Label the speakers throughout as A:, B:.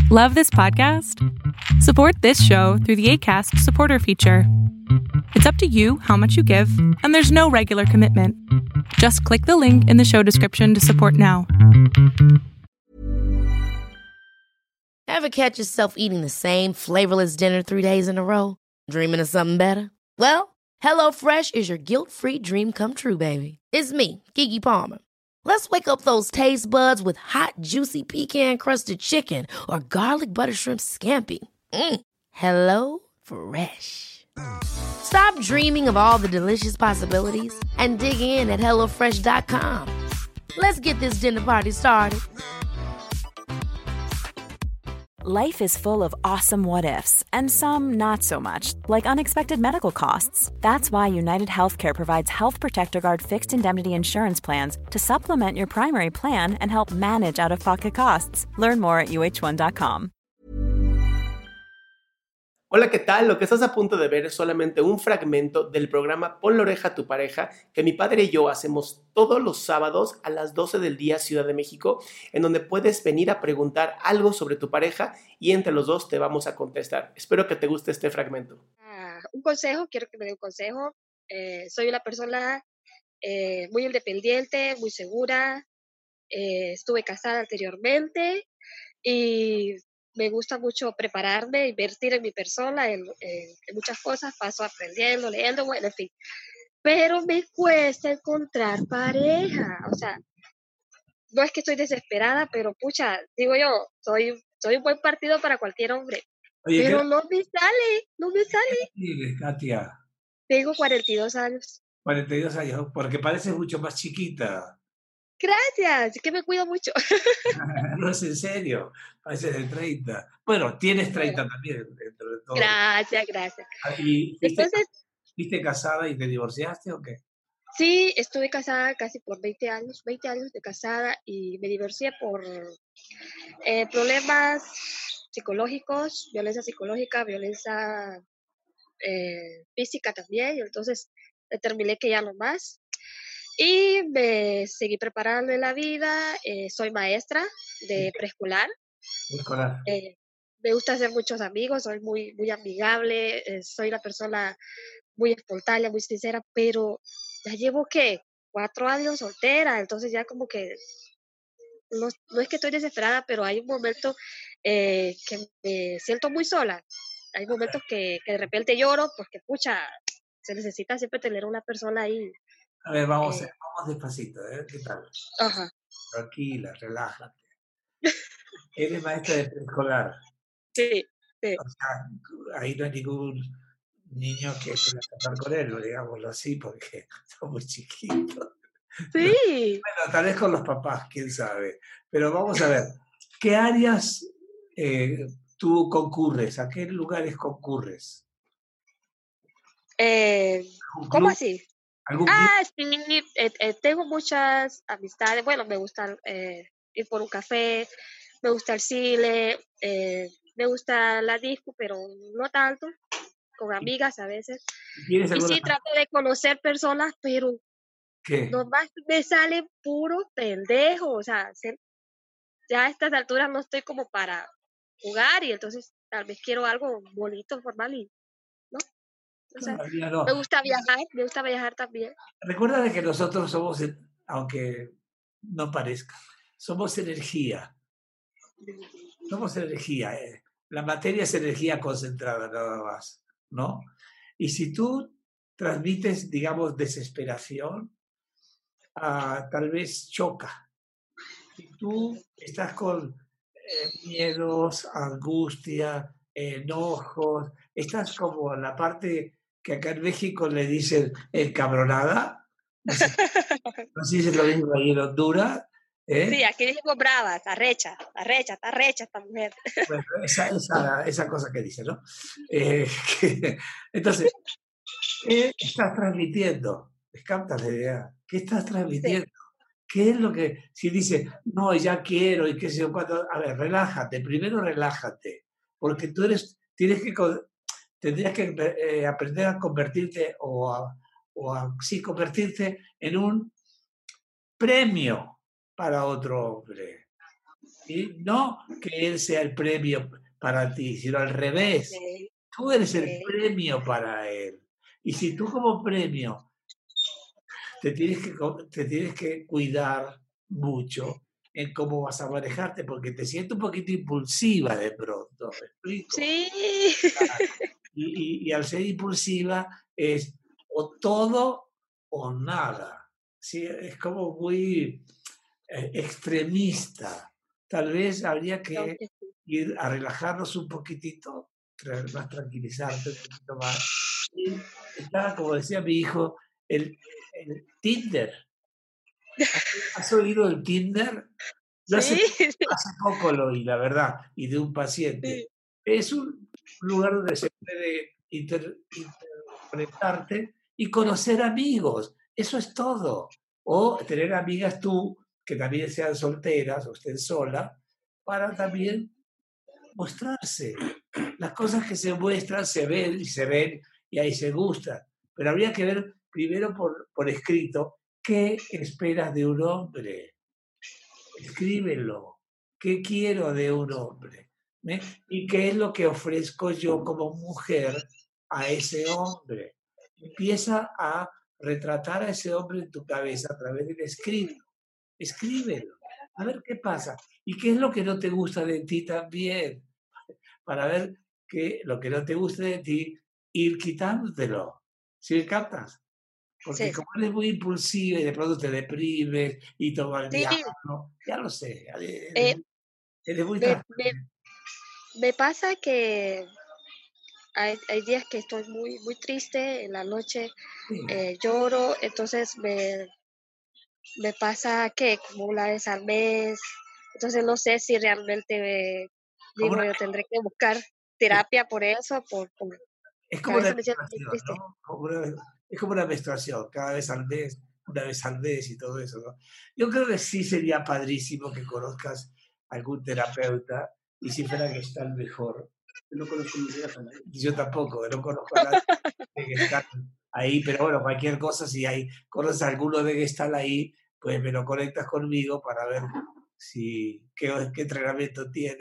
A: Love this podcast? Support this show through the Acast supporter feature. It's up to you how much you give, and there's no regular commitment. Just click the link in the show description to support now.
B: Ever catch yourself eating the same flavorless dinner 3 days in a row? Dreaming of something better? Well, HelloFresh is your guilt-free dream come true, baby. It's me, Keke Palmer. Let's wake up those taste buds with hot, juicy pecan-crusted chicken or garlic butter shrimp scampi. Hello Fresh. Stop dreaming of all the delicious possibilities and dig in at HelloFresh.com. Let's get this dinner party started.
C: Life is full of awesome what-ifs, and some not so much, like unexpected medical costs. That's why United Healthcare provides Health Protector Guard fixed indemnity insurance plans to supplement your primary plan and help manage out-of-pocket costs. Learn more at uh1.com.
D: Hola, ¿qué tal? Lo que estás a punto de ver es solamente un fragmento del programa Pon la oreja a tu pareja que mi padre y yo hacemos todos los sábados a las 12 del día Ciudad de México, en donde puedes venir a preguntar algo sobre tu pareja y entre los dos te vamos a contestar. Espero que te guste este fragmento.
E: Un consejo, quiero que me dé un consejo. Soy una persona muy independiente, muy segura. Estuve casada anteriormente y me gusta mucho prepararme, invertir en mi persona, en muchas cosas, paso aprendiendo, leyendo, bueno, en fin. Pero me cuesta encontrar pareja, o sea, no es que estoy desesperada, pero pucha, digo yo, soy un buen partido para cualquier hombre.
F: Oye,
E: pero no me sale.
F: ¿qué Katia?
E: Tengo 42 años.
F: 42 años, porque pareces mucho más chiquita.
E: Gracias, es que me cuido mucho.
F: No es en serio, pareces de 30. Bueno, tienes 30 también, dentro de todo.
E: Gracias.
F: ¿Y
E: Entonces,
F: fuiste casada y te divorciaste o qué?
E: sí, estuve casada casi por 20 años de casada y me divorcié por problemas psicológicos, violencia psicológica, violencia física también, y entonces determiné que ya no más. Y me seguí preparando en la vida, soy maestra de preescolar.
F: Escolar.
E: Me gusta hacer muchos amigos, soy muy, muy amigable, soy una persona muy espontánea, muy sincera, pero ya llevo, ¿qué? 4 años soltera, entonces ya como que no es que estoy desesperada, pero hay un momento que me siento muy sola. Hay momentos que de repente lloro porque, pucha, se necesita siempre tener una persona ahí.
F: A ver, vamos despacito, ¿eh? ¿Qué tal?
E: Ajá.
F: Tranquila, relájate. Eres maestra de preescolar.
E: Sí.
F: O sea, ahí no hay ningún niño que quiera casar con él, digámoslo así, porque son muy chiquitos.
E: Sí.
F: Bueno, tal vez con los papás, quién sabe. Pero vamos a ver, ¿qué áreas tú concurres? ¿A qué lugares concurres?
E: ¿Cómo así?
F: ¿Algún club?
E: Sí, tengo muchas amistades. Bueno, me gusta ir por un café, me gusta el cine, me gusta la disco, pero no tanto, con amigas a veces.
F: ¿Tienes
E: Y
F: alguna?
E: sí, trato de conocer personas, pero
F: ¿Qué?
E: nomás me sale puro pendejo. O sea, ya a estas alturas no estoy como para jugar y entonces tal vez quiero algo bonito, formal y, ¿no? O sea,
F: Todavía no.
E: me gusta viajar también.
F: Recuerda de que nosotros somos, aunque no parezca, somos energía. Somos energía. La materia es energía concentrada nada más, ¿no? Y si tú transmites, digamos, desesperación, tal vez choca. Si tú estás con miedos, angustia, enojos, estás como en la parte que acá en México le dicen encabronada. No sé si es lo mismo ahí en Honduras.
E: Sí, aquí decimos bravas, arrecha, está arrecha esta mujer.
F: Bueno, esa cosa que dice, ¿no? Entonces, ¿qué estás transmitiendo? ¿Me captas la idea? ¿Qué estás transmitiendo?
E: Sí.
F: ¿Qué es lo que, si dice, no, ya quiero y qué sé yo cuánto? A ver, relájate, primero relájate, porque tú tendrías que aprender a convertirte sí, convertirte en un premio para otro hombre. ¿sí? No que él sea el premio para ti, sino al revés.
E: Ok,
F: Tú eres el
E: ok.
F: premio para él. Y si tú como premio te tienes que cuidar mucho en cómo vas a manejarte, porque te sientes un poquito impulsiva de pronto, ¿me explico?
E: Sí.
F: Y al ser impulsiva es o todo o nada. ¿Sí? Es como muy extremista. Tal vez habría
E: Creo
F: que
E: que sí.
F: ir a relajarnos un poquitito, más tranquilizarte un poquito más. Y está, como decía mi hijo, el Tinder. ¿Has oído el Tinder? Yo
E: Sí,
F: hace poco lo oí, la verdad, y de un paciente.
E: sí,
F: Es un lugar donde se puede interpretarte y conocer amigos. Eso es todo. O tener amigas tú que también sean solteras o estén solas para también mostrarse. Las cosas que se muestran se ven y ahí se gustan. Pero habría que ver primero por escrito qué esperas de un hombre. Escríbelo. ¿Qué quiero de un hombre? ¿Eh? ¿Y qué es lo que ofrezco yo como mujer a ese hombre? Empieza a retratar a ese hombre en tu cabeza a través del escrito. Escríbelo. A ver qué pasa. ¿Y qué es lo que no te gusta de ti también? Para ver que lo que no te gusta de ti, ir quitándotelo. ¿Sí me captas? Porque
E: sí,
F: como eres muy impulsiva y de pronto te deprimes y toma el
E: sí.
F: diablo, ya lo sé,
E: Eh,
F: eres muy
E: me, me,
F: transparente.
E: me pasa que hay días que estoy muy triste, en la noche
F: Sí.
E: lloro, entonces me pasa que como una vez al mes, entonces no sé si realmente,
F: Como
E: digo,
F: una,
E: yo tendré que buscar terapia por eso,
F: es
E: que
F: como
E: a
F: una
E: veces me siento muy
F: menstruación,
E: triste.
F: ¿no? Es como una menstruación, cada vez al mes, una vez al mes y todo eso, ¿no? Yo creo que sí sería padrísimo que conozcas algún terapeuta y si fuera que está el mejor. Yo no conozco ninguna yo tampoco, no conozco a nadie de Gestalt ahí, pero bueno, cualquier cosa, si hay, conoces a alguno de Gestalt ahí, pues me lo conectas conmigo para ver qué entrenamiento tiene.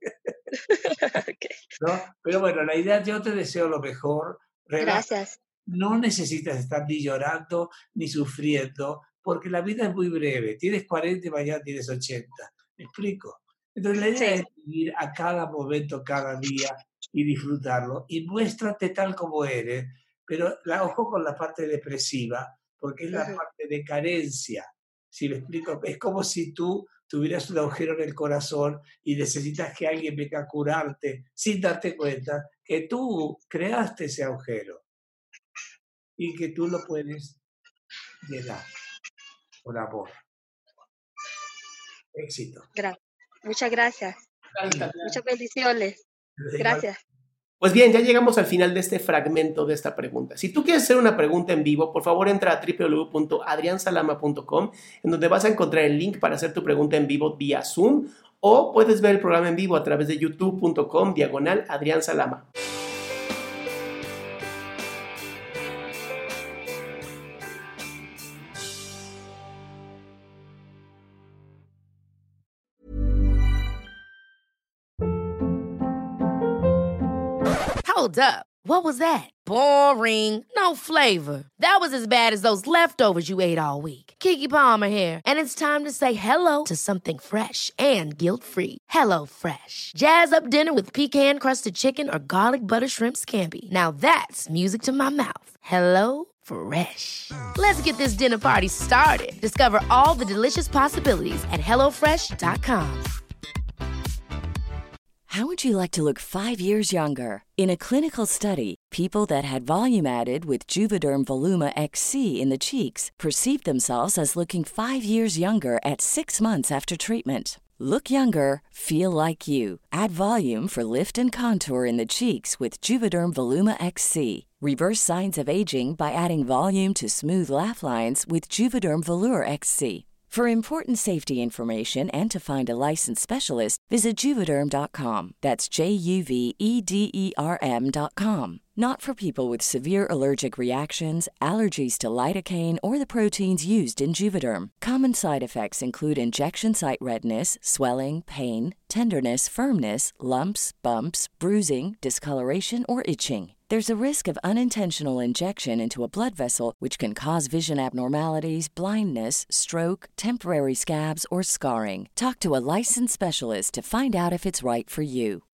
E: Ok,
F: ¿No? Pero bueno, la idea, yo te deseo lo mejor, relájate,
E: gracias.
F: no necesitas estar ni llorando ni sufriendo, porque la vida es muy breve, tienes 40 y mañana tienes 80, ¿me explico? Entonces la idea
E: Sí,
F: es vivir a cada momento, cada día y disfrutarlo, y muéstrate tal como eres, pero ojo con la parte depresiva, porque es la
E: ujú,
F: parte de carencia, si me explico, es como si tú tuvieras un agujero en el corazón y necesitas que alguien venga a curarte sin darte cuenta que tú creaste ese agujero y que tú lo puedes llenar con amor. Éxito.
E: gra- muchas gracias. Muchas bendiciones.
F: Igual,
E: Gracias.
D: Pues bien, ya llegamos al final de este fragmento de esta pregunta. Si tú quieres hacer una pregunta en vivo, por favor entra a www.adriansalama.com, en donde vas a encontrar el link para hacer tu pregunta en vivo vía Zoom, o puedes ver el programa en vivo a través de youtube.com/Adrián Salama.
B: Hold up. What was that? Boring. No flavor. That was as bad as those leftovers you ate all week. Keke Palmer here, and it's time to say hello to something fresh and guilt-free. Hello Fresh. Jazz up dinner with pecan-crusted chicken or garlic butter shrimp scampi. Now that's music to my mouth. Hello Fresh. Let's get this dinner party started. Discover all the delicious possibilities at hellofresh.com.
G: How would you like to look 5 years younger? In a clinical study, people that had volume added with Juvederm Voluma XC in the cheeks perceived themselves as looking 5 years younger at 6 months after treatment. Look younger, feel like you. Add volume for lift and contour in the cheeks with Juvederm Voluma XC. Reverse signs of aging by adding volume to smooth laugh lines with Juvederm Volure XC. For important safety information and to find a licensed specialist, visit Juvederm.com. That's JUVEDERM.com. Not for people with severe allergic reactions, allergies to lidocaine, or the proteins used in Juvederm. Common side effects include injection site redness, swelling, pain, tenderness, firmness, lumps, bumps, bruising, discoloration, or itching. There's a risk of unintentional injection into a blood vessel, which can cause vision abnormalities, blindness, stroke, temporary scabs, or scarring. Talk to a licensed specialist to find out if it's right for you.